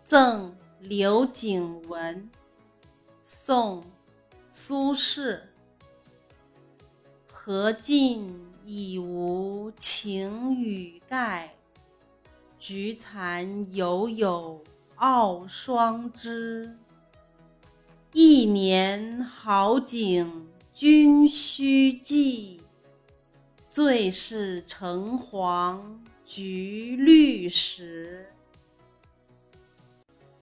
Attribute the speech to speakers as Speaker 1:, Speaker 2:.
Speaker 1: 赠刘景文，宋·苏轼。荷尽已无擎雨盖，菊残犹有傲霜枝。一年好景君须记，最是橙黄橘绿时。